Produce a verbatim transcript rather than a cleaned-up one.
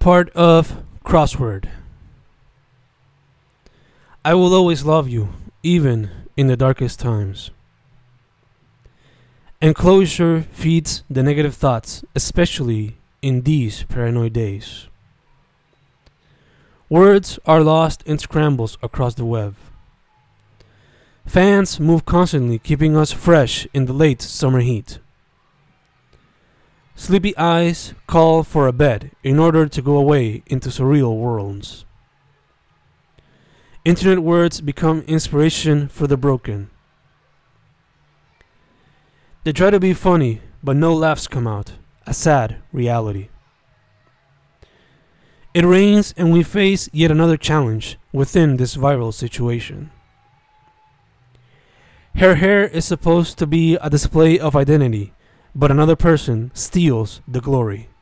part of Crossword. I will always love you, even in the darkest times. Enclosure feeds the negative thoughts, especially in these paranoid days. Words are lost in scrambles across the web. Fans move constantly, keeping us fresh in the late summer heat. Sleepy eyes call for a bed in order to go away into surreal worlds. Internet words become inspiration for the broken. They try to be funny, but no laughs come out. A sad reality. It rains and we face yet another challenge within this viral situation. Her hair is supposed to be a display of identity, but another person steals the glory.